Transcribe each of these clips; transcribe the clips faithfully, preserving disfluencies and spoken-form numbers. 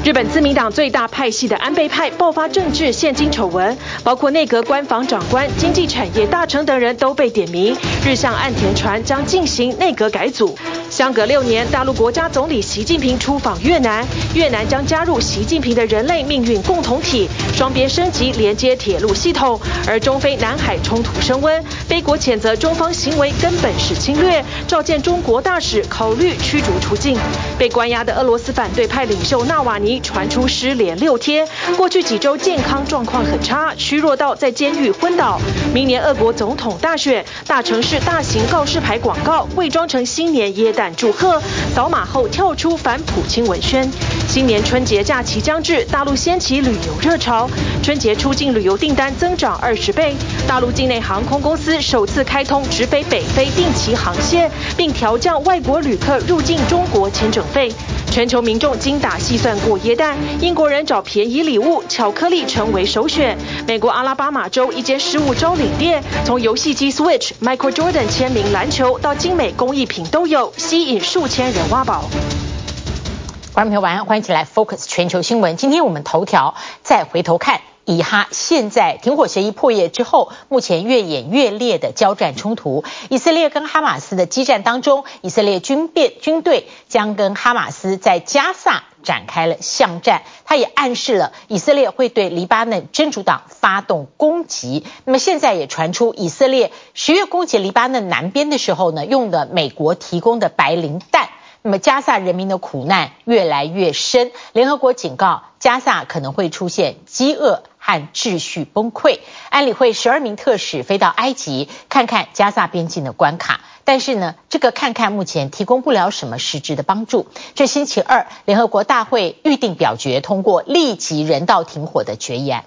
日本自民黨最大派系的安倍派爆發政治獻金醜聞，包括內閣官房長官、經濟產業大臣等人都被點名，日向岸田傳將進行內閣改組。相隔六年，大陸國家總理習近平出訪越南，越南將加入習近平的人類命運共同體，雙邊升級連接鐵路系統。而中非南海衝突升溫，菲國譴責中方行為根本是侵略，召見中國大使考慮驅逐出境。被關押的俄羅斯反對派領袖納瓦尼傳出失聯六天，過去幾周健康狀況很差，虛弱到在監獄昏倒。明年俄國總統大選，大城市大型告示牌廣告偽裝成新年耶誕祝賀，掃碼後跳出反普京文宣。新年春節假期將至，大陸掀起旅遊熱潮，春節出境旅遊訂單增長二十倍。大陸境內航空公司首次開通直飛北非定期航線，並調降外國旅客入境中國簽證費。全球民眾精打細算過耶誕，英國人找便宜禮物，巧克力成為首選。美國阿拉巴馬州一間十五招領店，從遊戲機 Switch、Michael Jordan 簽名籃球到精美工藝品都有，吸引數千人挖寶。 觀眾朋友晚安，歡迎一起來 Focus 全球新聞。今天我們頭條再回頭看。以哈現在停火協議破裂之後，目前越演越烈的交戰衝突，以色列跟哈馬斯的激戰當中，以色列軍變軍隊將跟哈馬斯在加薩展開了巷戰，他也暗示了以色列會對黎巴嫩真主黨發動攻擊。那麼現在也傳出以色列十月攻擊黎巴嫩南邊的時候呢，用的美國提供的白磷彈。那麼加薩人民的苦難越來越深，聯合國警告加薩可能會出現飢餓和秩序崩潰。安理會十二名特使飛到埃及看看加薩邊境的關卡，但是呢，這個看看目前提供不了什麼實質的幫助。這星期二，聯合國大會預定表決通過立即人道停火的決議案。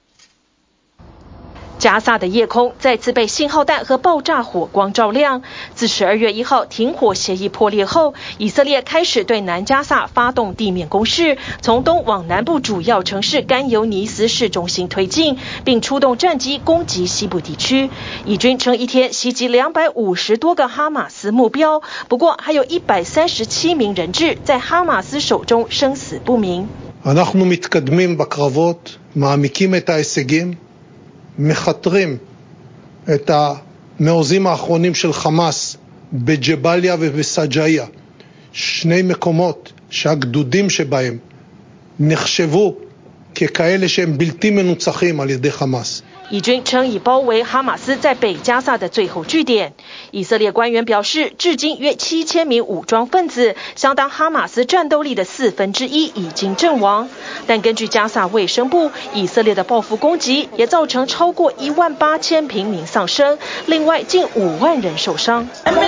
加薩的夜空再次被信號彈和爆炸火光照亮。自十二月一號停火協議破裂後，以色列開始對南加薩發動地面攻勢，從東往南部主要城市甘尤尼斯市中心推進，並出動戰機攻擊西部地區。以軍稱一天襲擊兩百五十多個哈馬斯目標，不過還有一百三十七名人質在哈馬斯手中生死不明。 אנחנו מתקדמים בקרבות, מעמיקים את ההישגים, מכתרים את המעוזים האחרונים של חמאס בג'באליה ובסג'איה, שני מקומות שהגדודים שבהם נחשבו ככאלה שהם בלתי מנוצחים על ידי חמאס. 以軍稱已包圍哈馬斯在北加薩的最後據點。以色列官員表示，至今約七千名武裝分子，相當哈馬斯戰鬥力的四分之一已經陣亡。但根據加薩衛生部，以色列的報復攻擊也造成超過一萬八千平民喪生，另外近五萬人受傷。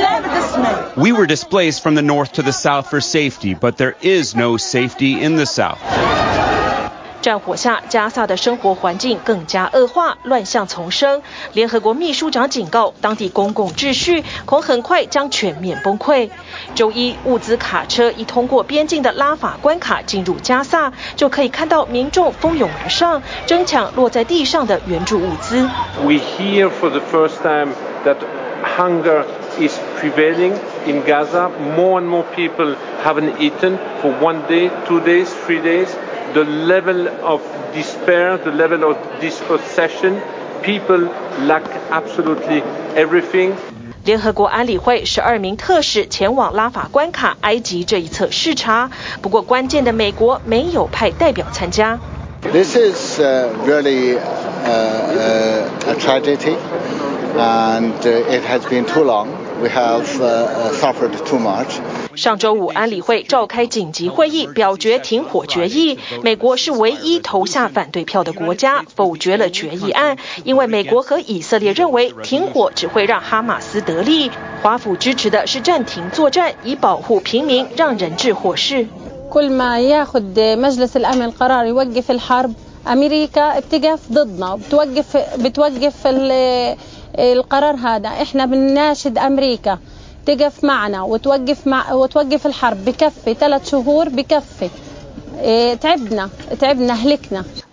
We were displaced from the north to the south for safety, but there is no safety in the south. 戰火下，加薩的生活環境更加惡化，亂象叢生。聯合國秘書長警告，當地公共秩序恐很快將全面崩潰。週一，物資卡車一通過邊境的拉法關卡進入加薩，就可以看到民眾蜂擁而上，爭搶落在地上的援助物資。 We hear for the first time that hunger is prevailing in Gaza. More and more people haven't eaten for one day, two days, three days. The level of despair, the level of dispossession, people lack absolutely everything. 聯合國安理會十二名特使前往拉法關卡埃及這一側視察，不過關鍵的美國沒有派代表參加。 This is uh, really uh, uh, a tragedy, and uh, it has been too long. We have uh, suffered too much. 上週五，安理會召開緊急會議，表決停火決議。美國是唯一投下反對票的國家，否決了決議案，因為美國和以色列認為停火只會讓哈馬斯得利。華府支持的是暫停作戰，以保護平民，讓人質獲釋。 كل ما ياخد مجلس الأمن قرار يوقف الحرب أمريكا بتقف ضدنا بتوقف بتوقف القرار هذا إحنا بنناشد أمريكا تقف معنا وتوقف مع وتوقف الحرب بكفي ثلاث شهور بكفي تعبنا تعبنا هلكنا.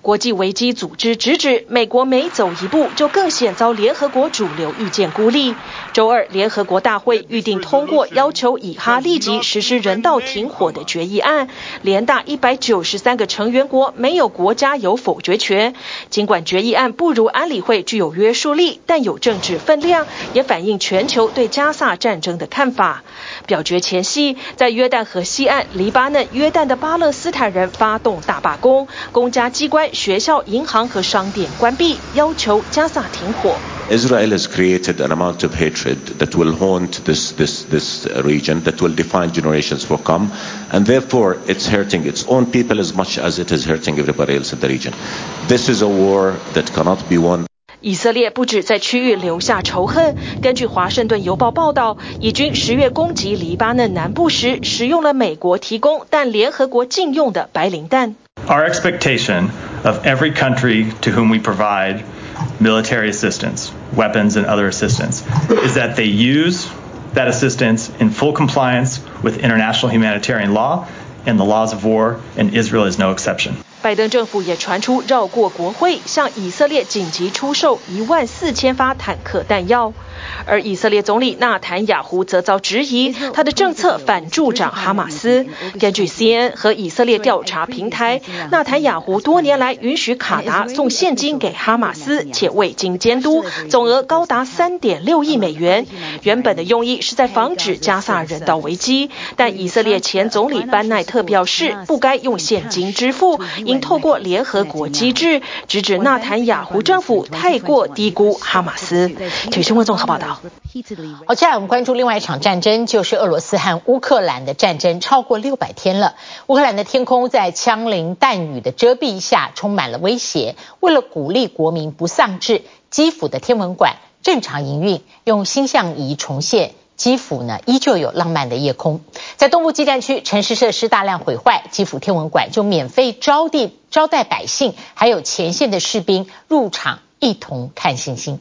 國際危機組織直指，美國每走一步就更險遭聯合國主流意見孤立。週二，聯合國大會預定通過要求以哈立即實施人道停火的決議案，連大一百九十三個成員國沒有國家有否決權。儘管決議案不如安理會具有約束力，但有政治分量，也反映全球對加薩戰爭的看法。表決前夕，在約旦河西岸黎巴嫩約旦的巴勒斯坦人發動大罷工，公家機關、學校、銀行和商店關閉，要求加薩停火。 Israel has created an amount of hatred that will haunt this, this, this region, that will define generations for come, and therefore it's hurting its own people as much as it is hurting everybody else in the region. This is a war that cannot be won. 以色列不止在區域留下仇恨，根據華盛頓郵報報道，以軍十月攻擊黎巴嫩南部時，使用了美國提供但聯合國禁用的白磷彈。 Our expectation of every country to whom we provide military assistance, weapons and other assistance, is that they use that assistance in full compliance with international humanitarian law and the laws of war, and Israel is no exception. 拜登政府也傳出繞過國會，向以色列緊急出售一萬四千發坦克彈藥。而以色列總理納坦雅胡則遭質疑，他的政策反助長哈馬斯。根據 C N N 和以色列調查平台，納坦雅胡多年來允許卡達送現金給哈馬斯，且未經監督，總額高達三點六億美元。原本的用意是在防止加薩人道危機，但以色列前總理班奈特表示，不該用現金支付，應透過聯合國機制，直指納坦雅胡政府太過低估哈馬斯。體育新聞綜合報道。 好，接下來我們關注另外一場戰爭，就是俄羅斯和烏克蘭的戰爭，超過六百天了。烏克蘭的天空在槍林彈雨的遮蔽下充滿了威脅。為了鼓勵國民不喪志，基輔的天文館正常營運，用星象儀重現基輔呢依舊有浪漫的夜空。在東部基戰區，城市設施大量毀壞，基輔天文館就免費招地招待百姓，還有前線的士兵入場一同看星星。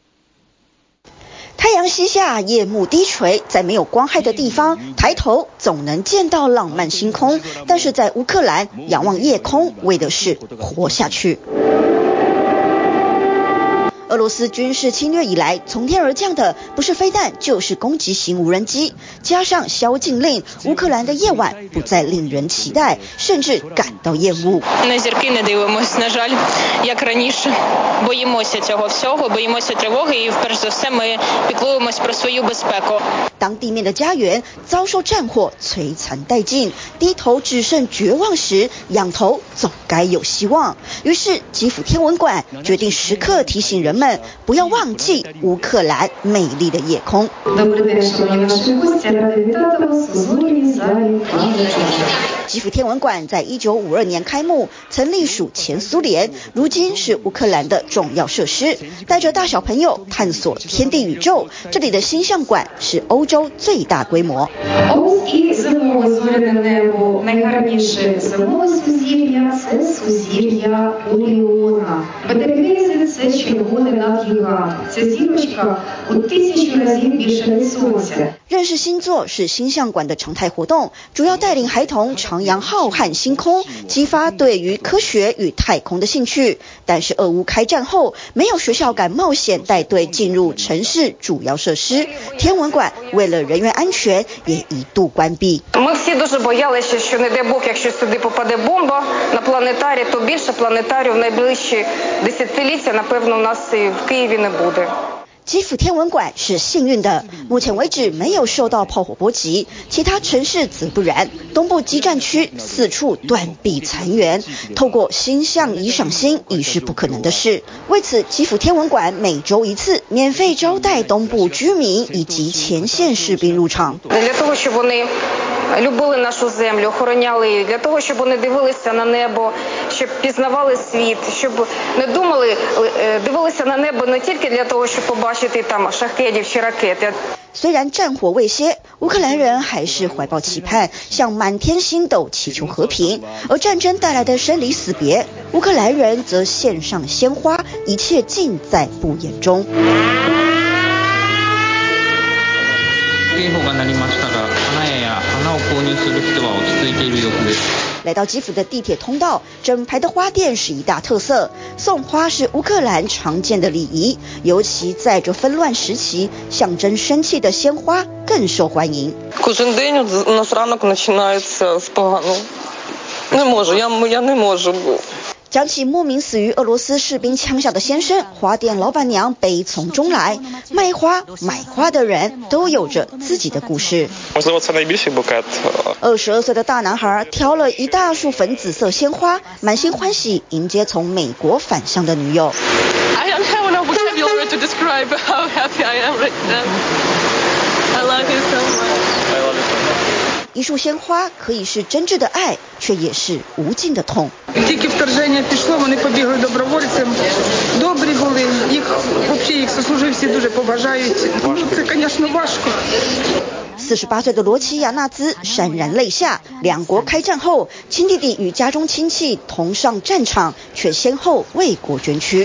太陽西下，夜幕低垂，在沒有光害的地方，抬頭總能見到浪漫星空。但是在烏克蘭，仰望夜空，為的是活下去。俄羅斯軍事侵略以來，從天而降的不是飛彈，就是攻擊型無人機。加上宵禁令，烏克蘭的夜晚不再令人期待，甚至感到厭惡。 На зірки не дивимось, на жаль, як раніше. Боїмося цього всього, боїмося тривоги і, перш за все, ми піклуємось про свою безпеку. 當地面的家園遭受戰火摧殘殆盡，低頭只剩絕望時，仰頭總該有希望。於是，基輔天文館決定時刻提醒人們。不要忘記烏克蘭美麗的夜空。基輔天文館在一九五二年開幕，曾隸屬前蘇聯，如今是烏克蘭的重要設施。帶着大小朋友探索天地宇宙，這裡的星象館是歐洲最大規模。認識星座是星象館的常態活動，主要帶領孩童徜徉浩瀚星空，激發對於科學與太空的興趣。但是俄烏開戰後，沒有學校敢冒險帶隊進入城市主要設施，天文館為了人員安全也一度關閉。 Ми всі дуже боялися, що не дай Бог, якщо сюди попаде бомба на планетарій, то більше планетарію в найближчі десятиліття, напевно, у нас і в Києві не буде。 基輔天文館是幸運的，目前為止沒有受到炮火波及，其他城市則不然。東部基戰區四處斷壁殘垣，透過星象儀賞星已是不可能的事。為此，基輔天文館每週一次免費招待東部居民以及前線士兵入場。 Любили нашу землю, охороняли її, для того, щоб вони дивилися на небо, щоб пізнавали світ, щоб не думали, дивилися на небо не тільки для того, щоб побачити там шахедів чи ракети. 雖然戰火未歇，烏克蘭人還是懷抱期盼，向滿天星斗祈求和平。而戰爭帶來的生離死別，烏克蘭人則獻上鮮花，一切盡在不言中。 警報が鳴りましたが、花屋や花を購入する人は落ち着いている様子です。 來到基輔的地鐵通道，整排的花店是一大特色。送花是烏克蘭常見的禮儀，尤其在這紛亂時期，象徵生氣的鮮花更受歡迎。 Кожен день у нас ранок починається з поганого. Не можу, я я не можу. 講起莫名死於俄羅斯士兵槍下的先生，花店老闆娘悲從中來。賣花、買花的人都有着自己的故事。二十二歲的大男孩挑了一大束粉紫色鮮花，滿心歡喜迎接從美國返鄉的女友。 I don't have enough vocabulary to describe how happy I am right now. I love you so much. I love you so much. 一束鮮花可以是真摯的愛，卻也是無盡的痛。 Тільки вторження пішло, вони побігли добровольцем. Добрі були, їх взагалі їх сослуживці дуже поважають. Ну, це, звісно, важко. 四十八歲的羅齊亞納茲潸然淚下。兩國開戰後，親弟弟與家中親戚同上戰場，卻先後為國捐軀。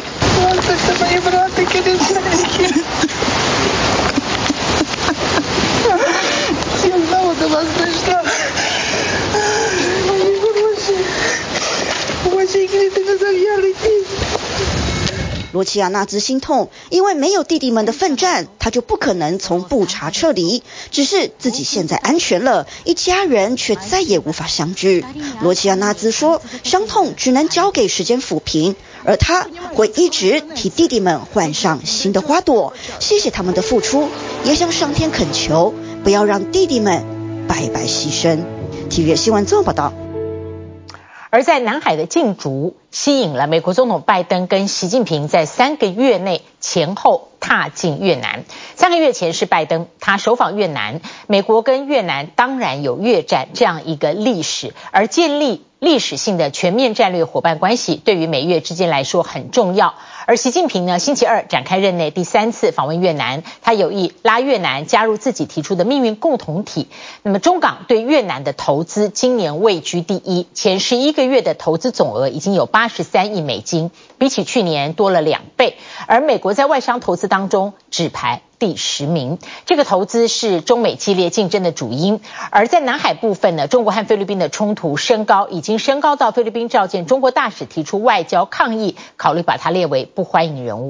羅齊亞納茲心痛，因為沒有弟弟們的奮戰，他就不可能從布查撤離。只是自己現在安全了，一家人卻再也無法相聚。羅齊亞納茲說，傷痛只能交給時間撫平，而他會一直替弟弟們換上新的花朵。謝謝他們的付出，也向上天懇求，不要讓弟弟們白白犧牲。體育新聞綜合報道。 而在南海的競逐，吸引了美國總統拜登跟習近平在三個月內前後踏進越南。三個月前是拜登，他首訪越南，美國跟越南當然有越戰這樣一個歷史，而建立歷史性的全面戰略夥伴關係，對於美越之間來說很重要。而習近平呢，星期二展開任內第三次訪問越南，他有意拉越南加入自己提出的命運共同體。那麼中港對越南的投資今年位居第一，前十一個月的投資總額已經有八十三億美金，比起去年多了兩倍。而美國在外商投資當中只排第十名，這個投資是中美激烈競爭的主因。而在南海部分呢，中國和菲律賓的衝突升高，已經升高到菲律賓召見中國大使提出外交抗議，考慮把它列為不歡迎人物。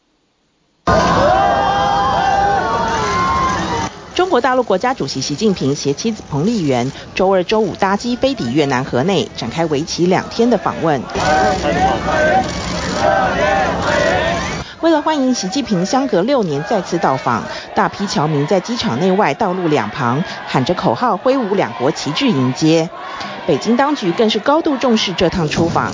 中國大陸國家主席習近平攜妻子彭麗媛周二、周五搭機飛抵越南河內，展開為期兩天的訪問。為了歡迎習近平相隔六年再次到訪，大批僑民在機場內外道路兩旁喊着口號，揮舞兩國旗幟迎接。北京當局更是高度重視這趟出訪，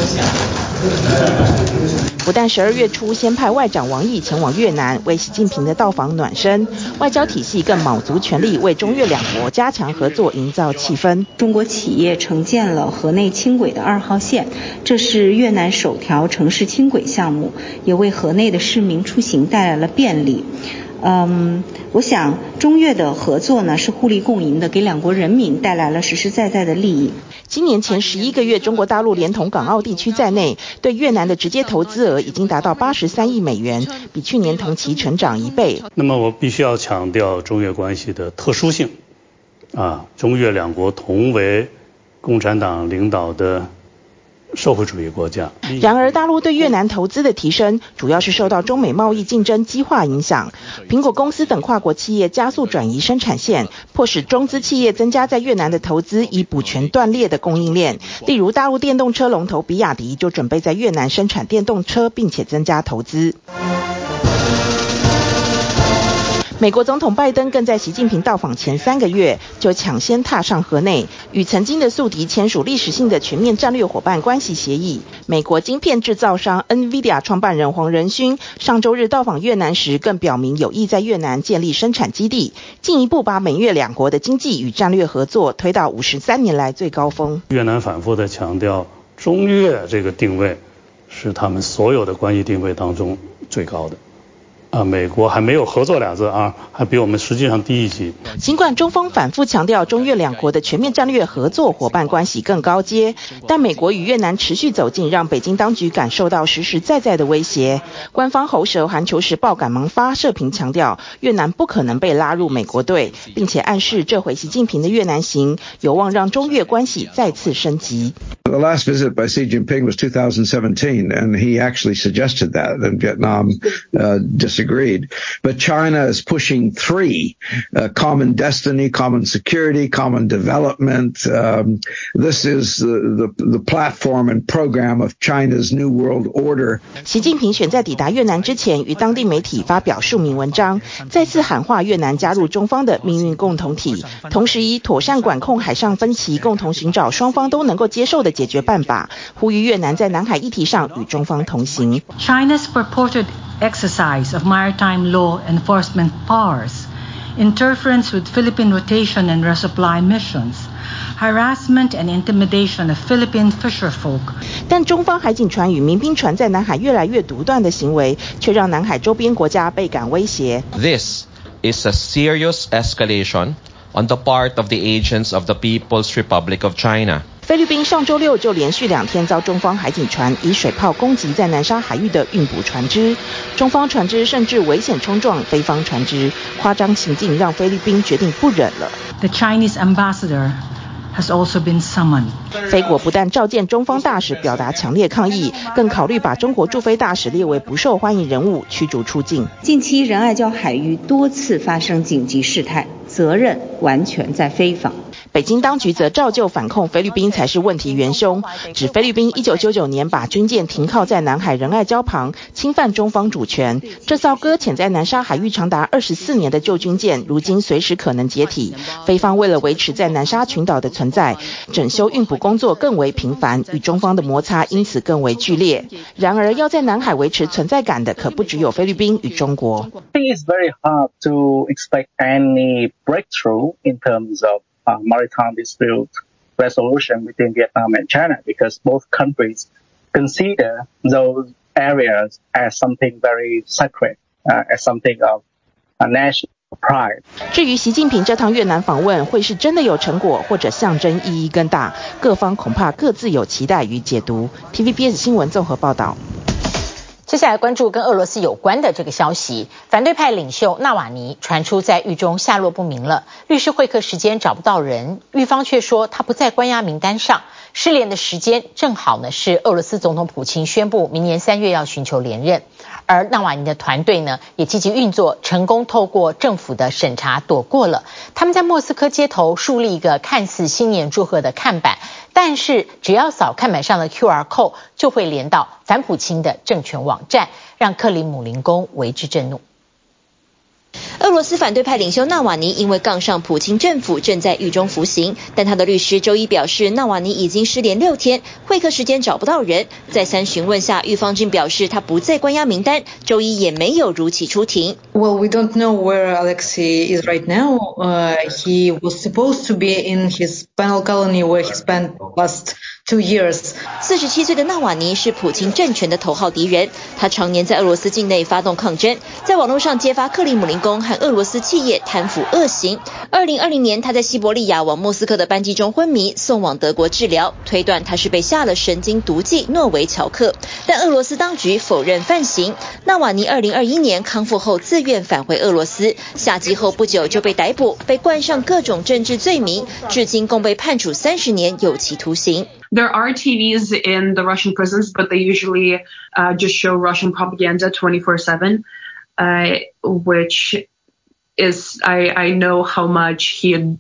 不但十二月初先派外長王毅前往越南為習近平的到訪暖身，外交體系更卯足全力為中越兩國加強合作營造氣氛。 中國企業承建了河內輕軌的二號線，這是越南首條城市輕軌項目，也為河內的市民出行帶來了便利。嗯，我想中越的合作呢是互利共贏的，給兩國人民帶來了實實在在的利益。 今年前十一個月，中國大陸連同港澳地區在內，對越南的直接投資額已經達到八十三億美元，比去年同期成長一倍。 那麼我必須要強調中越關係的特殊性，啊，中越兩國同為共產黨領導的社會主義國家。 然而，大陸對越南投資的提升，主要是受到中美貿易競爭激化影響。蘋果公司等跨國企業加速轉移生產線，迫使中資企業增加在越南的投資，以補全斷裂的供應鏈。例如，大陸電動車龍頭比亞迪就準備在越南生產電動車，並且增加投資。美國總統拜登更在習近平到訪前三個月就搶先踏上河內，與曾經的宿敵簽署歷史性的全面戰略夥伴關係協議。美國晶片製造商 NVIDIA 創辦人黃仁勳上周日到訪越南時，更表明有意在越南建立生產基地，進一步把美越兩國的經濟與戰略合作推到五十三年來最高峰。 越南反覆地強調，中越這個定位是他們所有的關係定位當中最高的。 啊，美國還沒有合作倆字啊，還比我們實際上低一級。 儘管中方反覆強調中越兩國的全面戰略合作夥伴關係更高階，但美國與越南持續走近，讓北京當局感受到實實在在的威脅。官方喉舌《環球時報》趕忙發社評強調，越南不可能被拉入美國隊，並且暗示這回習近平的越南行有望讓中越關係再次升級。 The last visit by Xi Jinping was two thousand seventeen, and he actually suggested that, and Vietnam uh, disagreed. But China is pushing three, uh, common destiny, common security, common development. Um, this is the, the, the platform and program of China's New World Order. 習近平選在抵達越南之前，與當地媒體發表署名文章，再次喊話越南加入中方的命運共同體，同時以妥善管控海上分歧，共同尋找雙方都能夠接受的解決辦法，呼籲越南在南海議題上與中方同行。 China's purported exercise of maritime law enforcement powers, interference with Philippine rotation and resupply missions, harassment and intimidation of Philippine fisherfolk. 但中方海警船與民兵船在南海越來越獨斷的行為，卻讓南海周邊國家倍感威脅。 This is a serious escalation on the part of the agents of the People's Republic of China. 菲律賓上周六就連續兩天遭中方海警船以水炮攻擊在南沙海域的運補船隻，中方船隻甚至危險衝撞菲方船隻，誇張情境讓菲律賓決定不忍了。 The Chinese ambassador has also been summoned. 菲國不但召見中方大使表達強烈抗議，更考慮把中國駐菲大使列為不受歡迎人物，驅逐出境。 近期仁愛礁海域多次發生緊急事態，責任完全在菲方。 北京當局則照舊反控菲律賓才是問題元兇，指菲律賓一九九九年把軍艦停靠在南海仁愛礁旁，侵犯中方主權。這艘擱淺在南沙海域長達二十四年的舊軍艦，如今隨時可能解體。菲方為了維持在南沙群島的存在，整修運補工作更為頻繁，與中方的摩擦因此更為劇烈。然而，要在南海維持存在感的，可不只有菲律賓與中國。 I think it's very hard to expect any breakthrough in terms of Uh, maritime dispute resolution between Vietnam and China, because both countries consider those areas as something very sacred, uh, as something of a national pride. 至於習近平這趟越南訪問會是真的有成果，或者象徵意義更大，各方恐怕各自有期待與解讀。T V B S 新聞綜合報道。 接下來關注跟俄羅斯有關的這個消息，反對派領袖納瓦尼傳出在獄中下落不明了，律師會客時間找不到人，獄方卻說他不在關押名單上，失聯的時間正好呢是俄羅斯總統普京宣布明年三月要尋求連任，而納瓦尼的團隊呢也積極運作，成功透過政府的審查躲過了。他們在莫斯科街頭樹立一個看似新年祝賀的看板，但是只要掃看板上的 Q R code 就會連到反普京的政權網站，讓克里姆林宮為之震怒。 俄羅斯反對派領袖納瓦尼因為槓上普京政府，正在獄中服刑，但他的律師周一表示，納瓦尼已經失聯六天，會客時間找不到人。再三詢問下，獄方竟表示他不在關押名單，周一也沒有如期出庭。 Well, we don't know where Alexei is right now. Uh, he was supposed to be in his penal colony where he spent last two years. 四十七歲的納瓦尼是普京政權的頭號敵人，他常年在俄羅斯境內發動抗爭，在網絡上揭發克里姆林宮和俄羅斯企業貪腐惡行。二零二零年，他在西伯利亞往莫斯科的班機中昏迷，送往德國治療，推斷他是被下了神經毒劑諾維喬克，但俄羅斯當局否認犯行。納瓦尼二零二一年康復後自願返回俄羅斯，下機後不久就被逮捕，被冠上各種政治罪名，至今共被判處三十年有期徒刑。 There are T Vs in the Russian prisons, but they usually uh, just show Russian propaganda twenty-four seven, uh, which is, I, I know how much he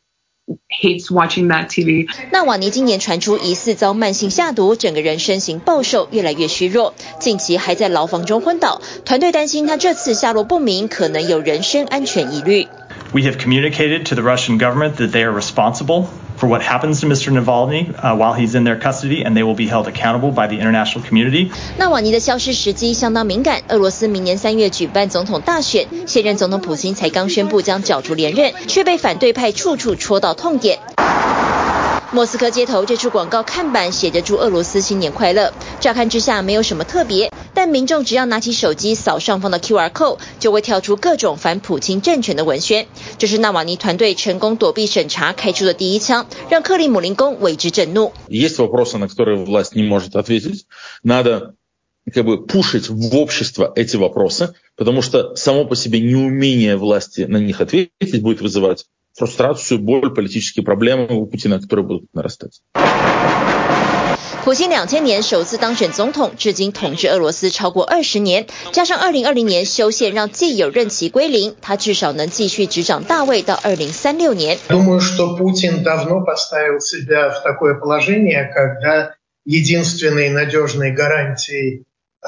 hates watching that T V. 納瓦尼今年傳出疑似遭慢性下毒，整個人身形暴瘦，越來越虛弱，近期還在牢房中昏倒。團隊擔心他這次下落不明，可能有人身安全疑慮。 We have communicated to the Russian government that they are responsible for what happens to Mister Navalny uh, while he's in their custody, and they will be held accountable by the international community. 納瓦尼的消失時機相當敏感，俄羅斯明年三月舉辦總統大選，現任總統普京才剛宣布將角逐連任，卻被反對派處處戳到痛點。莫斯科街頭這處廣告看板寫着祝俄羅斯新年快樂，乍看之下沒有什麼特別， 但民眾只要拿起手機掃上方的 Q R code， 就會跳出各種反普京政權的文宣。這是納瓦尼團隊成功躲避審查開出的第一槍，讓克里姆林宮為之震怒。 Есть вопросы, на которые власть не может ответить. Надо как бы пушить в общество эти вопросы, потому что само по себе неумение власти на них ответить будет вызывать фрустрацию, боль, политические проблемы у Путина, которые будут нарастать. 普京两千年首次當選總統，至今統治俄羅斯超過二十年，加上二零二零年修憲讓既有任期歸零，他至少能繼續執掌大位到二零三六年。 Думаю, что Путин давно поставил себя в такое положение, когда единственной надежной гарантией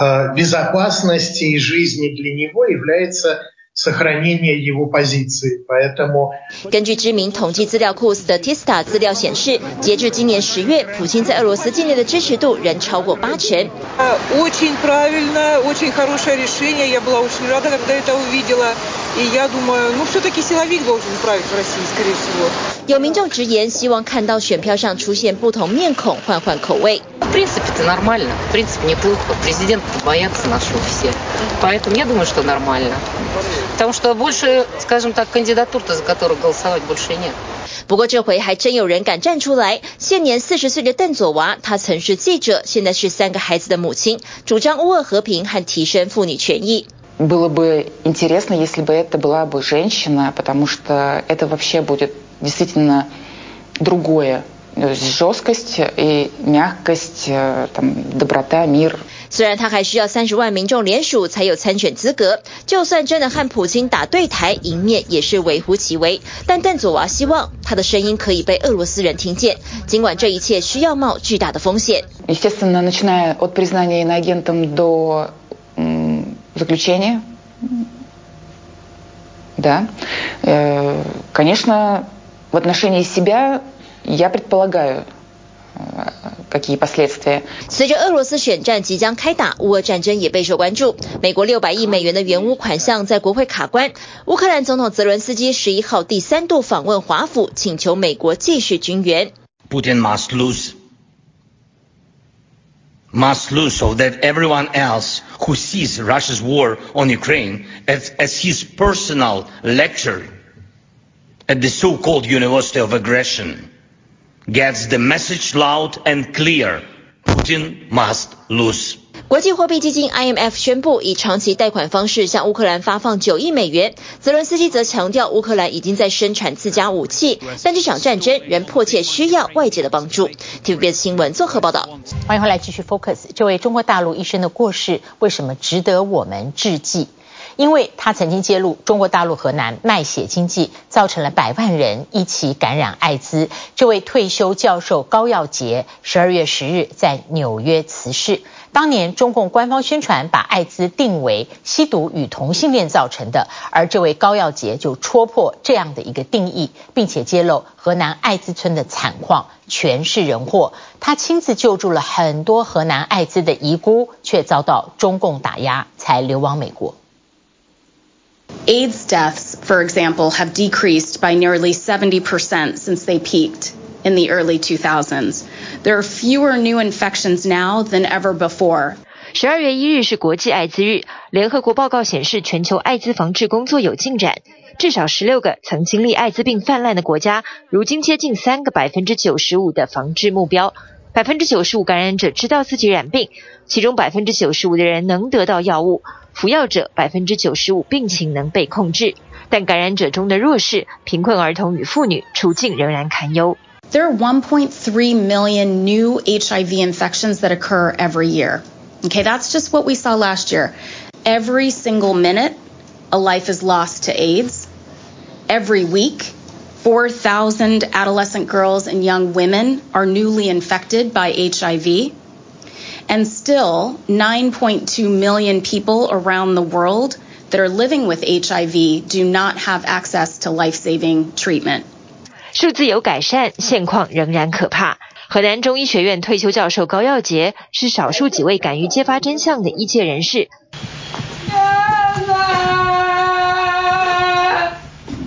безопасности и жизни для него является сохранение его позиции, поэтому 根據知名統計資料庫 Statista 資料顯示，截至今年十月，普京在俄羅斯境內的支持度仍超過八成。 Очень правильно, очень хорошее решение. Я была очень рада, когда это увидела. И я думаю, ну все-таки силовик должен править в России, скорее всего. 有民眾直言，希望看到選票上出現不同面孔，換換口味。 В принципе, это нормально. В принципе, неплохо. Президент боятся нашего все. Поэтому я думаю, что нормально. Потому что больше, скажем так, кандидатур-то, за которых голосовать больше нет. 不過這回還真有人敢站出來。現年四十歲的鄧佐娃，她曾是記者，現在是三個孩子的母親，主張烏俄和平和提升婦女權益。 Было бы интересно, если бы это была бы женщина, потому что это вообще будет действительно другое. Жесткость и мягкость, там, доброта, мир. 雖然他還需要三十萬民眾聯署才有參選資格，就算真的和普京打對台，贏面也是微乎其微。但鄧佐娃希望他的聲音可以被俄羅斯人聽見，儘管這一切需要冒巨大的風險。 Естественно, начиная от признания иноагентом до заключения, да, конечно, в отношении себя я предполагаю, какие последствия. 隨着俄羅斯選戰即將開打，烏俄戰爭也備受關注。美國六百億美元的援烏款項在國會卡關，烏克蘭總統澤倫斯基十一號第三度訪問華府，請求美國繼續軍援。 Putin must lose, must lose, so that everyone else who sees Russia's war on Ukraine as, as his personal lecture at the so-called University of Aggression gets the message loud and clear. Putin must lose. 國際貨幣基金 I M F 宣布以長期貸款方式向烏克蘭發放九億美元。澤倫斯基則強調，烏克蘭已經在生產自家武器，但這場戰爭仍迫切需要外界的幫助。T V B S 新聞綜合報道。 歡迎回來繼續 Focus。這位中國大陸醫生的過世，為什麼值得我們致記？因為他曾經揭露中國大陸河南賣血經濟造成了百萬人一起感染艾滋。這位退休教授高耀潔十二月十日在紐約辭世。當年中共官方宣傳把艾滋定為吸毒與同性戀造成的，而這位高耀潔就戳破這樣的一個定義，並且揭露河南艾滋村的慘況，全是人禍。他親自救助了很多河南艾滋的遺孤，卻遭到中共打壓，才流亡美國。 AIDS deaths, for example, have decreased by nearly seventy percent since they peaked in the early two thousands. There are fewer new infections now than ever before. 十二月一日是國際艾滋日，聯合國報告顯示，全球艾滋防治工作有進展。至少十六個曾經歷艾滋病氾濫的國家，如今接近三個百分之九十五的防治目標。百分之九十五感染者知道自己染病，其中百分之九十五的人能得到藥物，服藥者百分之九十五病情能被控制，但感染者中的弱勢、貧困兒童與婦女處境仍然堪憂。 There are one point three million new H I V infections that occur every year. Okay, that's just what we saw last year. Every single minute, a life is lost to AIDS. Every week, four thousand adolescent girls and young women are newly infected by H I V. And still, nine point two million people around the world that are living with H I V do not have access to life-saving treatment. 數字有改善，現況仍然可怕。河南中醫學院退休教授高耀潔是少數幾位敢於揭發真相的醫界人士。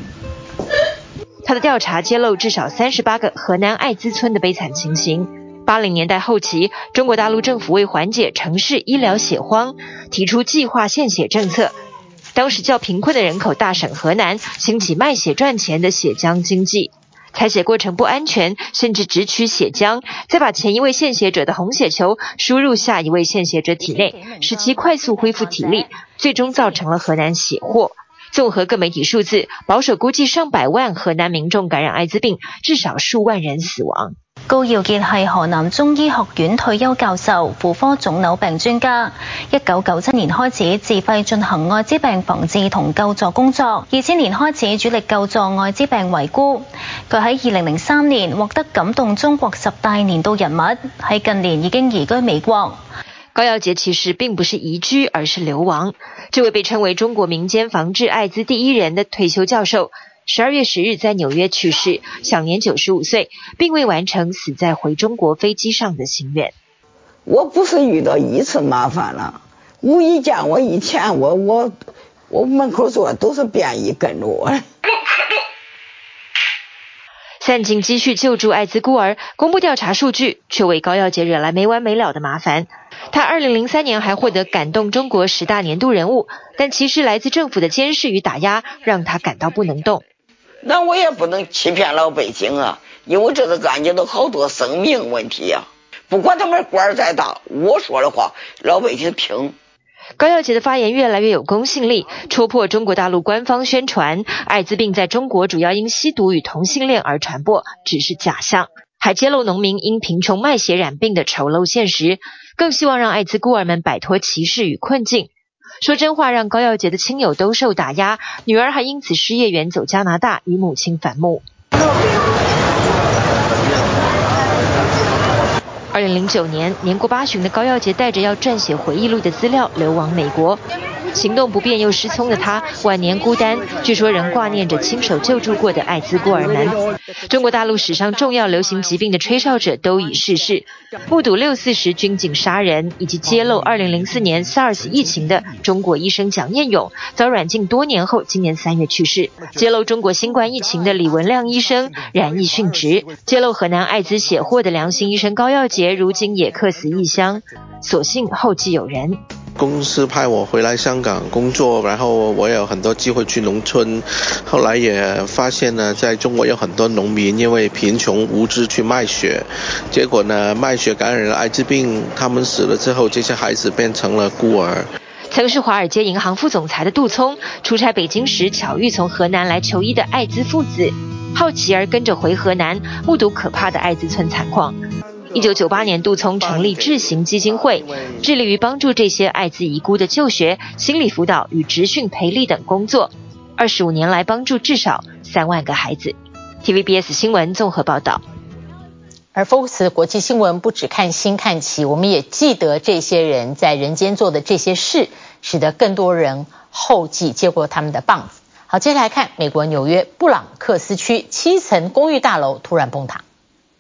他的調查揭露至少三十八個河南艾滋村的悲慘情形。 八零年代後期，中國大陸政府為緩解城市醫療血荒，提出計劃獻血政策。當時較貧困的人口大省河南興起賣血賺錢的血漿經濟。採血過程不安全，甚至只取血漿，再把前一位獻血者的紅血球輸入下一位獻血者體內，使其快速恢復體力，最終造成了河南血禍。綜合各媒體數字，保守估計上百萬河南民眾感染艾滋病，至少數萬人死亡。 高耀傑係河南中醫學院退休教授、婦科腫瘤病專家。一九九七年開始自費進行艾滋病防治同救助工作，二千年開始主力救助艾滋病遺孤。佢喺二零零三年獲得感動中國十大年度人物，喺近年已經移居美國。 高耀傑其實並不是移居，而是流亡。這位被稱為中國民間防治艾滋第一人的退休教授，十二月十日在紐約去世，享年九十五歲，並未完成死在回中國飛機上的心願。 我不是遇到一次麻煩了，無意間我以前我我我門口坐都是便衣跟着我。 散盡積蓄救助艾滋孤兒，公布調查數據，卻為高耀傑惹來沒完沒了的麻煩。他二零零三年還獲得感動中國十大年度人物，但其實來自政府的監視與打壓，讓他感到不能動。 那我也不能欺騙老百姓啊，因為這個案件都好多生命問題啊，不管他們官兒再大，我說的話老百姓聽。 高耀傑的發言越來越有公信力，戳破中國大陸官方宣傳艾滋病在中國主要因吸毒與同性戀而傳播只是假象，還揭露農民因貧窮賣血染病的醜陋現實，更希望讓艾滋孤兒們擺脫歧視與困境。說真話讓高耀傑的親友都受打壓，女兒還因此失業遠走加拿大與母親反目。二零零九年，年過八旬的高耀傑帶着要撰寫回憶錄的資料流亡美國。行動不便又失聰的他，晚年孤單，據說仍掛念着親手救助過的艾滋孤兒們。中國大陸史上重要流行疾病的吹哨者都已逝世，目睹六四時軍警殺人以及揭露二零零四年 SARS 疫情的中國醫生蔣彥勇，遭軟禁多年後，今年三月去世。揭露中國新冠疫情的李文亮醫生染疫殉職，揭露河南艾滋血禍的良心醫生高耀傑，如今也客死異鄉，所幸後繼有人。 公司派我回來香港工作，然後我也有很多機會去農村，後來也發現呢，在中國有很多農民因為貧窮無知去賣血，結果呢賣血感染了艾滋病，他們死了之後，這些孩子變成了孤兒。 曾是華爾街銀行副總裁的杜聰，出差北京時巧遇從河南來求醫的艾滋父子，好奇而跟着回河南，目睹可怕的艾滋村慘況。一九九八年，杜聰成立智行基金會，致力於幫助這些艾滋遺孤的就學、心理輔導與職訓培力等工作。二十五年來，幫助至少三萬個孩子。T V B S 新聞綜合報道。 而 Focus 國際新聞不只看新看齊，我們也記得這些人在人間做的這些事，使得更多人後繼接過他們的棒子。好，接下來看美國紐約布朗克斯區七層公寓大樓突然崩塌。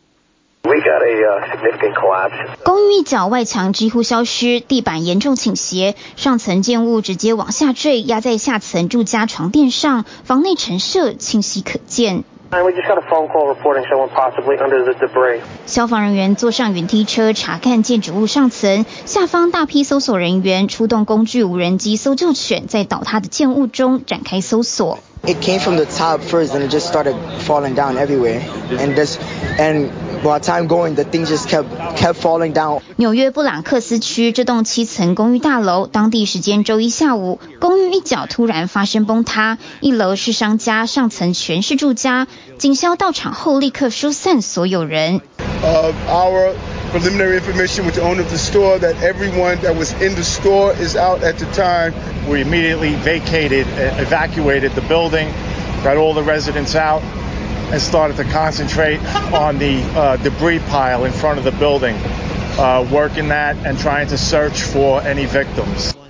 We got a, uh, significant collapse. 公寓一角外牆幾乎消失，地板嚴重傾斜，上層建物直接往下墜，壓在下層住家床墊上，房內陳設清晰可見。 And we just got a phone call reporting someone possibly under the debris. 消防人員坐上雲梯車查看建築物上層，下方大批搜索人員出動工具無人機搜救犬，在倒塌的建物中展開搜索。 It came from the top first and it just started falling down everywhere. And this, and while time going, the things just kept kept falling down. 紐約布朗克斯區這棟七層公寓大樓，當地時間周一下午，公寓一角突然發生崩塌，一樓是商家，上層全是住家。警消到場後立刻疏散所有人。 Uh, our preliminary information with the owner of the store that everyone that was in the store is out at the time. We immediately vacated, evacuated the building, got all the residents out, and started to concentrate on the uh, debris pile in front of the building, uh, working that and trying to search for any victims.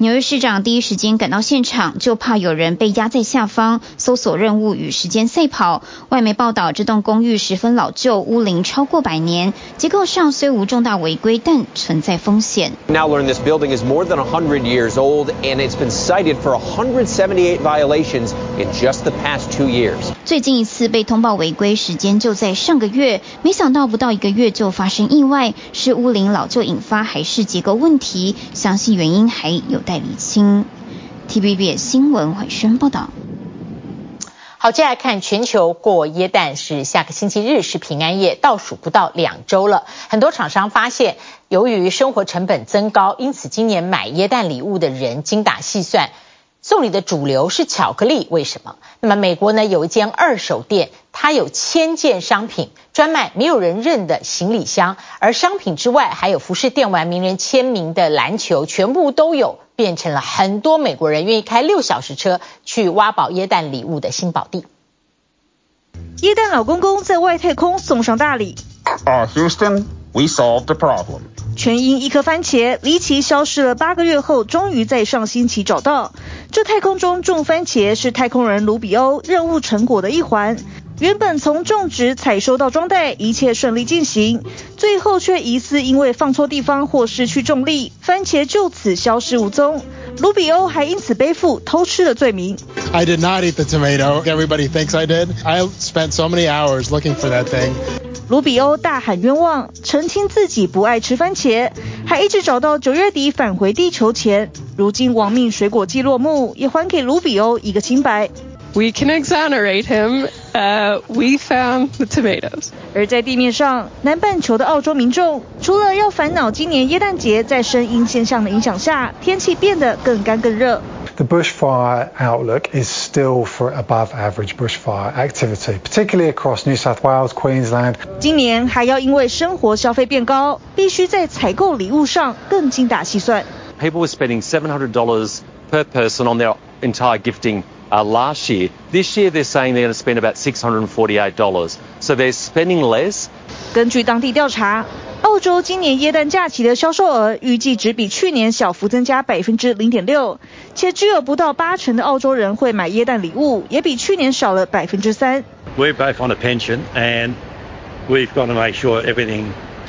紐約市長第一時間趕到現場，就怕有人被壓在下方，搜索任務與時間賽跑。外媒報道，這棟公寓十分老舊，屋齡超過百年，結構上雖無重大違規，但存在風險。 Now learn this building is more than one hundred years old, and it's been cited for one hundred seventy-eight violations in just the past two years. 最近一次被通報違規時間就在上個月，沒想到不到一個月就發生意外，是屋齡老舊引發，還是結構問題？詳細原因還有待釐清。T V B S 新聞慧萱報道。 好，接下來看全球過耶誕，是下個星期日是平安夜，倒數不到兩周了。很多廠商發現，由於生活成本增高，因此今年買耶誕禮物的人精打細算。送禮的主流是巧克力，為什麼？那麼美國呢，有一間二手店，它有千件商品，專賣沒有人認的行李箱，而商品之外還有服飾、電玩、名人簽名的籃球，全部都有，變成了很多美國人願意開六小時車去挖寶耶誕禮物的新寶地。 耶誕老公公在外太空送上大禮。 Uh, Houston, we solved the problem. 全因一顆番茄離奇消失了八個月後，終於在上星期找到。這太空中種番茄是太空人盧比歐任務成果的一環。原本從種植、採收到裝袋，一切順利進行，最後卻疑似因為放錯地方或失去重力，番茄就此消失無蹤。盧比歐還因此背負偷吃的罪名。 I did not eat the tomato. Everybody thinks I did. I spent so many hours looking for that thing. 盧比歐大喊冤枉，澄清自己不愛吃番茄，還一直找到九月底返回地球前。如今亡命水果季落幕，也還給盧比歐一個清白。 We can exonerate him. Uh, we found the tomatoes. 而在地面上，南半球的澳洲民眾除了要煩惱今年耶誕節在聲音現象的影響下，天氣變得更乾更熱。 The bushfire outlook is still for above average bushfire activity, particularly across New South Wales, Queensland. 今年還要因為生活消費變高，必須在採購禮物上更精打細算。 People were spending seven hundred dollars per person on their entire gifting uh, last year. This year they're saying they're going to spend about six hundred forty-eight dollars. So they're spending less. 根據當地調查，澳洲今年耶誕假期的銷售額預計只比去年小幅增加百分之零點六，且只有不到八成的澳洲人會買耶誕禮物，也比去年少了百分之三。 We're both on a pension, and we've got to make sure everything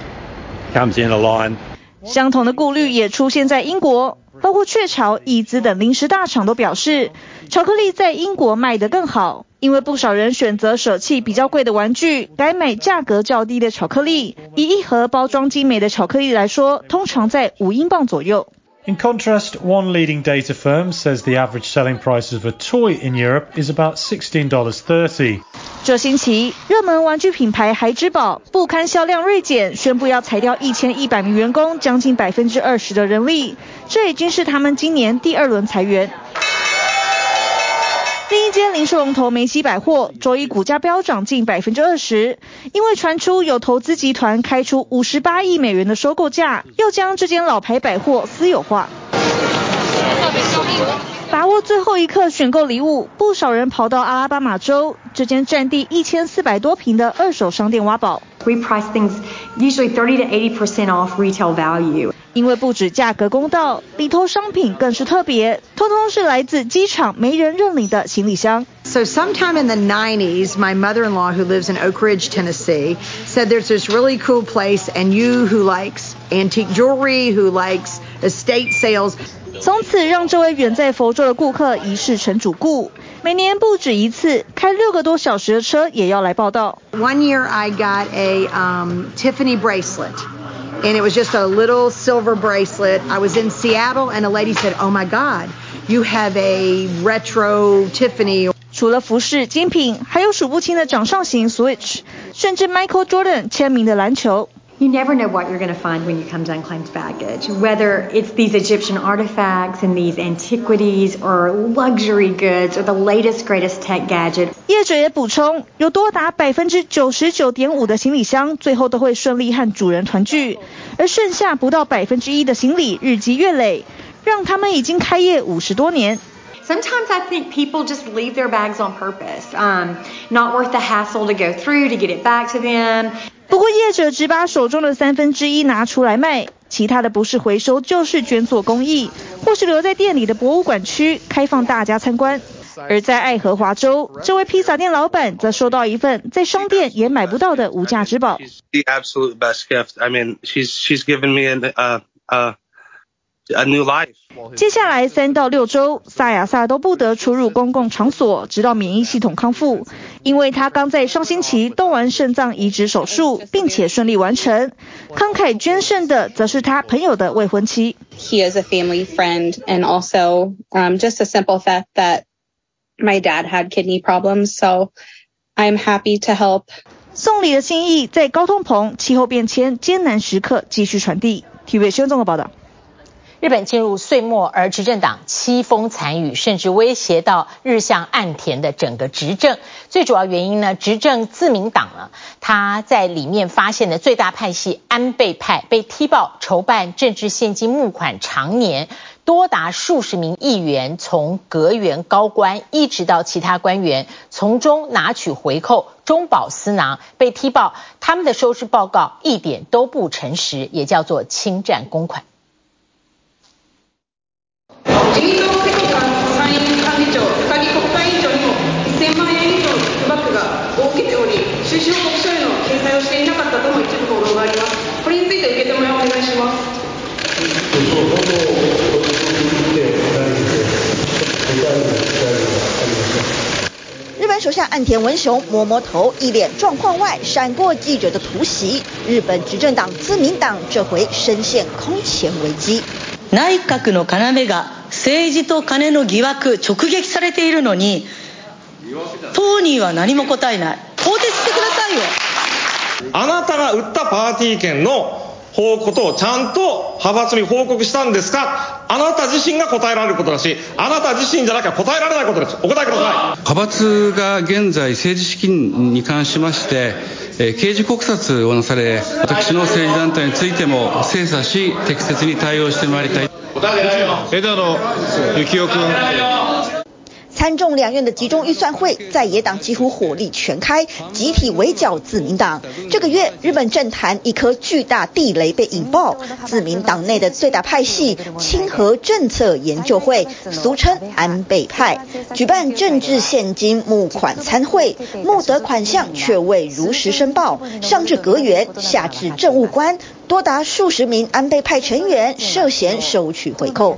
comes in a line. 相同的顧慮也出現在英國，包括雀巢、益滋等零食大廠都表示，巧克力在英國賣得更好，因為不少人選擇捨棄比較貴的玩具，改買價格較低的巧克力。以一盒包裝精美的巧克力來說，通常在五英鎊左右。 In contrast, one leading data firm says the average selling price of a toy in Europe is about sixteen dollars thirty. 這星期，熱門玩具品牌孩之寶不堪銷量銳減，宣布要裁掉一千一百名員工，將近百分之二十的人力。這已經是他們今年第二輪裁員。另一間零售龍頭梅西百貨周一股價飆漲近百分之二十，因為傳出有投資集團開出五十八億美元的收購價，要將這間老牌百貨私有化。把握最後一刻選購禮物，不少人跑到阿拉巴馬州這間佔地一千四百多坪的二手商店挖寶。 We price things usually thirty to eighty percent off retail value. 因為不止價格公道，裡頭商品更是特別，通通是來自機場沒人認領的行李箱。 So sometime in the nineties, my mother-in-law who lives in Oak Ridge, Tennessee, said there's this really cool place, and you who likes antique jewelry, who likes estate sales. 從此讓這位遠在佛州的顧客一試成主顧，每年不止一次，開六個多小時的車也要來報到。 One year I got a um, Tiffany bracelet, and it was just a little silver bracelet. I was in Seattle, and a lady said, "Oh my God, you have a retro Tiffany." 除了服飾精品，還有數不清的掌上型 Switch， 甚至 Michael Jordan 簽名的籃球。 You never know what you're going to find when you come to unclaimed baggage, whether it's these Egyptian artifacts and these antiquities or luxury goods or the latest greatest tech gadget. 業者也補充，有多達百分之九十九點五的行李箱最後都會順利和主人團聚，而剩下不到百分之一的行李日積月累，讓他們已經開業五十多年。 Sometimes I think people just leave their bags on purpose, um, not worth the hassle to go through to get it back to them. 不過業者只把手中的三分之一拿出來賣， 其他的不是回收就是捐做公益，或是留在店裡的博物館區開放大家參觀。而在愛荷華州，這位披薩店老闆則收到一份在商店也買不到的無價之寶。 The absolute best gift. I mean, she's she's given me an, uh, uh, a new life. 接下來三到六周，薩亞薩都不得出入公共場所，直到免疫系統康復。因為他剛在上星期動完腎臟移植手術，並且順利完成。慷慨捐腎的則是他朋友的未婚妻。 He is a family friend, and also um, just a simple fact that my dad had kidney problems, so I'm happy to help. 送禮的心意在高通膨、氣候變遷艱難時刻繼續傳遞。體育新聞綜合報道。 日本進入歲末，而執政黨淒風慘雨，甚至威脅到日向岸田的整個執政。最主要原因呢，執政自民黨呢，他在裡面發現的最大派系安倍派被踢爆籌辦政治獻金募款長年，多達數十名議員從閣員高官一直到其他官員，從中拿取回扣，中飽私囊，被踢爆他們的收支報告一點都不誠實，也叫做侵占公款。 自民党政務官参院幹事長、高木国会議長にもせんまんえん以上の寄付バッグがを受けており、収支報告書への掲載をしていなかったとの一部報道があります。これについて受け止めをお願いします。 日本首相岸田文雄摸摸頭，一臉狀況外閃過記者的突襲。日本執政黨自民黨這回深陷空前危機。 内閣の要が政治と金の疑惑直撃されているのに、当人は何も答えない。更迭してくださいよ。 あなたが売ったパーティー券のことをちゃんと派閥に報告したんですか。あなた自身が答えられることだし、あなた自身じゃなきゃ答えられないことです。お答えください。 派閥が現在政治資金に関しまして、えー、刑事告発をなされ、私の政治団体についても精査し適切に対応してまいりたい。 枝野幸男君。 參眾兩院的集中預算會，在野黨幾乎火力全開，集體圍剿自民黨。這個月，日本政壇一顆巨大地雷被引爆，自民黨內的最大派系清和政策研究會，俗稱安倍派，舉辦政治獻金募款參會，募得款項卻未如實申報，上至閣員，下至政務官，多達數十名安倍派成員涉嫌收取回扣。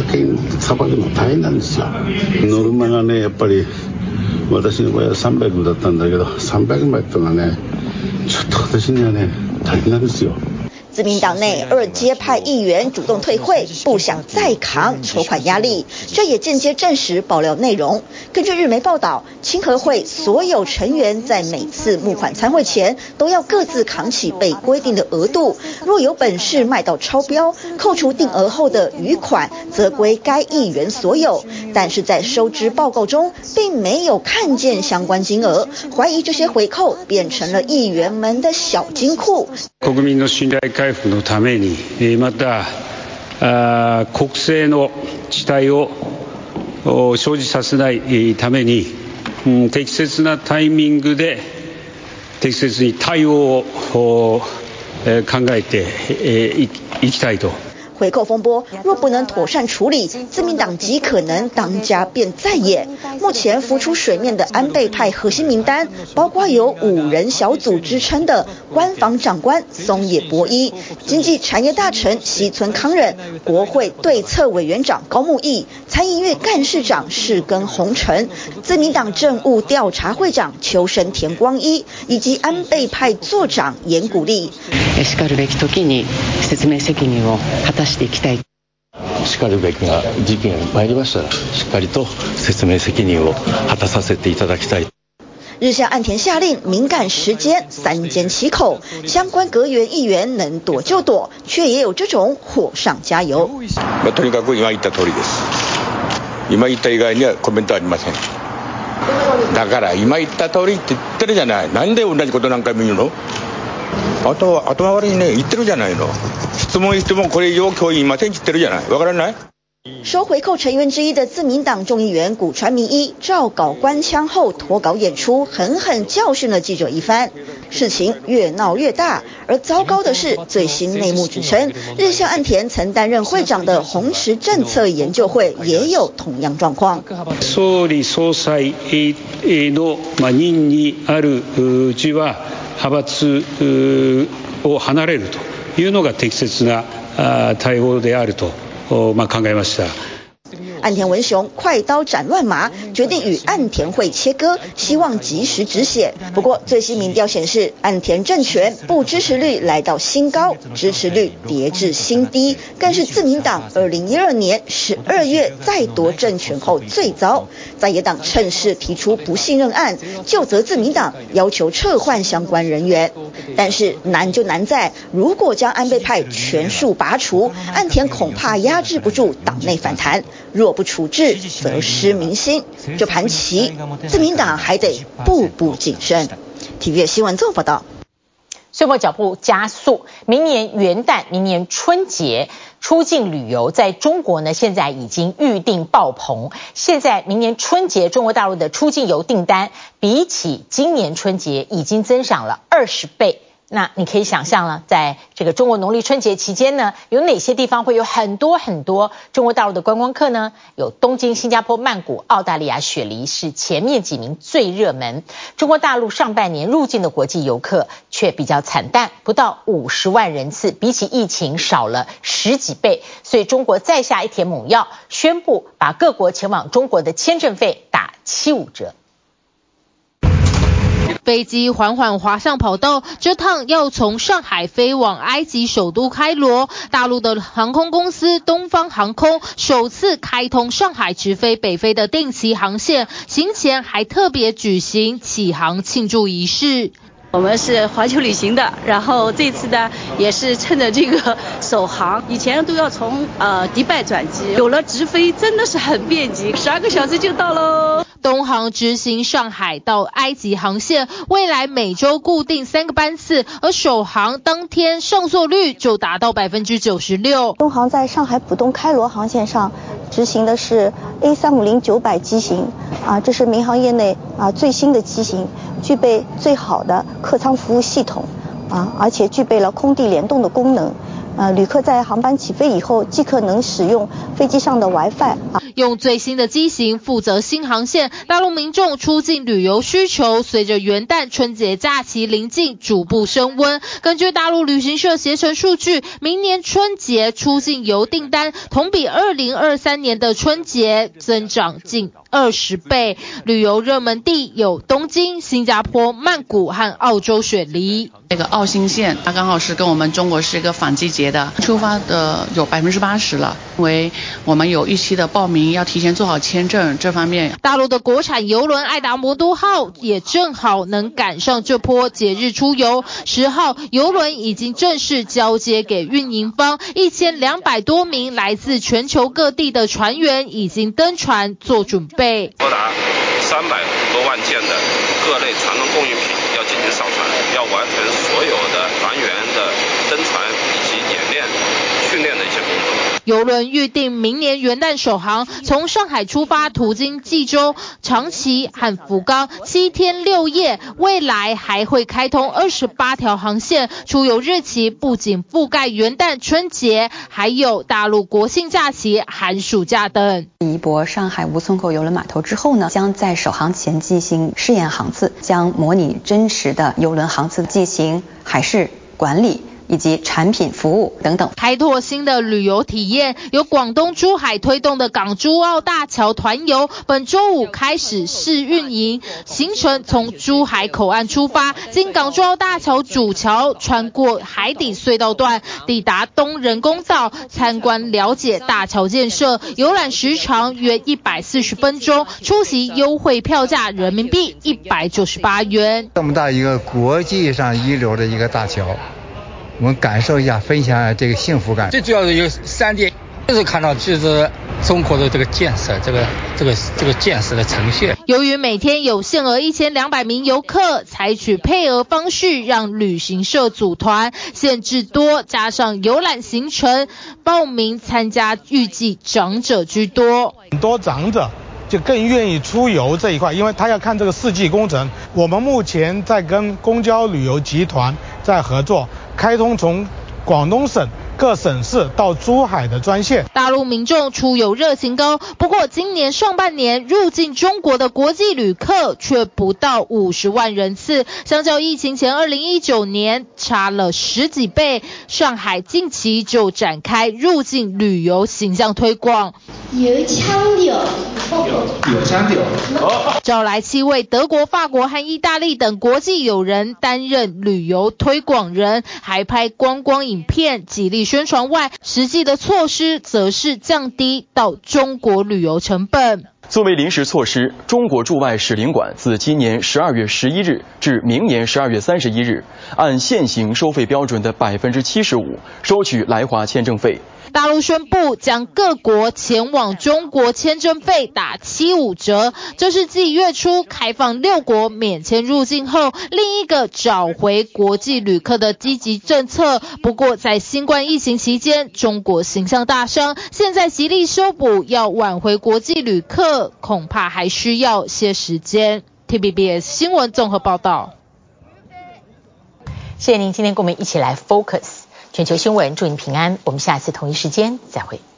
ノルマがね、やっぱり私の場合はさんびゃくだったんだけど、さんびゃくまいってのはね、ちょっと私にはね、大変なんですよ。 自民黨內二階派議員主動退會，不想再扛籌款壓力，這也間接證實爆料內容。根據日媒報道，清和會所有成員在每次募款參會前都要各自扛起被規定的額度，若有本事賣到超標，扣除定額後的餘款則歸該議員所有。但是在收支報告中並沒有看見相關金額，懷疑這些回扣變成了議員們的小金庫。 國民の信頼回復のために、また国政の遅滞を生じさせないために、適切なタイミングで適切に対応を考えていきたいと。 回扣風波若不能妥善處理，自民黨極可能當家變在野。目前浮出水面的安倍派核心名單，包括有五人小組之稱的官房長官松野博一、經濟產業大臣西村康稔、國會對策委員長高木毅、參議院幹事長世耕弘成、自民黨政務調查會長秋生田光一，以及安倍派座長岩谷立。 しかるべき時に説明責任を果たしていきたい。 しかるべきが時期が参りましたら、しっかりと説明責任を果たさせていただきたい。 日向岸田下令敏感時間三緘其口，相關閣員議員能躲就躲，卻也有這種火上加油。 まあ、とにかく今言った通りです。今言った以外にはコメントありません。だから今言った通りって言ってるじゃない。なんで同じこと何回も言うの？あとは頭悪いね、言ってるじゃないの。質問してもこれ以上今日言いませんって言ってるじゃない。わからない？ 收回扣成員之一的自民黨眾議員古川彌一照稿官腔後脫稿演出，狠狠教訓了記者一番。事情越鬧越大，而糟糕的是，最新內幕指稱，日向岸田曾擔任會長的紅池政策研究會也有同樣狀況。 総理総裁の任にあるうちは派閥を離れるというのが適切な対応であると考えました。 岸田文雄快刀斬亂麻，決定與岸田會切割，希望及時止血。不過最新民調顯示，岸田政權不支持率來到新高，支持率跌至新低，更是自民黨二零一二年十二月再奪政權後最糟。在野黨趁勢提出不信任案，究責自民黨要求撤換相關人員。但是難就難在，如果將安倍派全數拔除，岸田恐怕壓制不住黨內反彈。若不處置，則失民心。這盤棋，自民黨還得步步謹慎。體育新聞綜合報道。 歲末腳步加速，明年元旦、明年春節出境旅遊，在中國呢，現在已經預訂爆棚。現在明年春節，中國大陸的出境遊訂單比起今年春節已經增長了二十倍。那你可以想象了，在這個中國農曆春節期間呢，有哪些地方會有很多很多中國大陸的觀光客呢？有東京、新加坡、曼谷、澳大利亞、雪梨是前面幾名最熱門。中國大陸上半年入境的國際遊客卻比較慘淡，不到五十萬人次，比起疫情少了十幾倍。所以中國再下一帖猛藥，宣布把各國前往中國的簽證費打七五折。 飛機緩緩滑上跑道，這趟要從上海飛往埃及首都開羅。大陸的航空公司東方航空首次開通上海直飛北非的定期航線，行前還特別舉行啟航慶祝儀式。 我們是環球旅行的，然後這次呢也是趁着這個首航，以前都要從呃迪拜轉機，有了直飛真的是很便捷，十二個小時就到嘍。 東航執行上海到埃及航線，未來每周固定三個班次，而首航當天上座率就達到百分之九十六。 東航在上海浦東開羅航線上執行的是 A 三五零九百機型，啊，這是民航業內啊最新的機型，具備最好的客艙服務系統，啊，而且具備了空地聯動的功能。呃，旅客在航班起飛以後，即可能使用飛機上的 WiFi 啊。 用最新的機型負責新航線，大陸民眾出境旅遊需求隨着元旦春節假期臨近逐步升溫。根據大陸旅行社攜程數據，明年春節出境遊訂單同比二零二三年的春節增長近二十倍。旅遊熱門地有東京、新加坡、曼谷和澳洲雪梨。 這個澳新線，它剛好是跟我們中國是一個反季節的，出發的有百分之八十了，因為我們有預期的報名，要提前做好簽證這方面。 大陸的國產郵輪愛達魔都號也正好能趕上這波節日出遊。十號郵輪已經正式交接給運營方，一千兩百多名來自全球各地的船員已經登船做準備。 多達三百多萬件的各類船舶供應品要進行掃船，要完成所有的船員的登船以及演練、訓練的一些工作。 郵輪預定明年元旦首航，從上海出發，途經濟州、長崎和福岡，七天六夜。未來還會開通二十八條航線，出遊日期不僅覆蓋元旦、春節，還有大陸國慶假期、寒暑假等。 移駁上海吳淞口郵輪碼頭之後呢，將在首航前進行試驗航次，將模擬真實的郵輪航次進行海事管理以及產品服務等等， 開拓新的旅遊體驗。由廣東珠海推動的港珠澳大橋團遊，本周五開始試運營。行程從珠海口岸出發，經港珠澳大橋主橋，穿過海底隧道段，抵達東人工島，參觀了解大橋建設。遊覽時長約一百四十分鐘，出席優惠票價人民幣一百九十八元。 這麼大一個國際上一流的一個大橋，我們感受一下，分享一下這個幸福感。 最主要的有三點，就是看到就是中國的這個建設，這個這個這個建設的呈現。 由於每天有限額一千兩百名遊客，採取配額方式讓旅行社組團，限制多，加上遊覽行程，報名參加預計長者居多。 很多長者就更願意出遊這一塊，因為他要看這個四季工程。我們目前在跟公交旅遊集團在合作，開通從廣東省各省市到珠海的專線。 大陸民眾出遊熱情高，不過今年上半年入境中國的國際旅客卻不到五十萬人次，相較疫情前二零一九年差了十幾倍。上海近期就展開入境旅遊形象推廣， 有腔調。 有有腔調， 找來七位德國、法國和意大利等國際友人擔任旅遊推廣人，還拍觀光影片，極力宣傳外，實際的措施則是降低到中國旅遊成本。 作為臨時措施，中國駐外使領館自今年十二月十一日至明年十二月三十一日，按現行收費標準的百分之七十五收取來華簽證費。 大陸宣布將各國前往中國簽證費打七五折，這是繼月初開放六國免簽入境後，另一個找回國際旅客的積極政策。不過在新冠疫情期間，中國形象大傷，現在極力修補，要挽回國際旅客，恐怕還需要些時間。T V B S 新聞綜合報道。 謝謝您今天跟我們一起來 Focus 全球新聞，祝您平安。我們下次同一時間再會。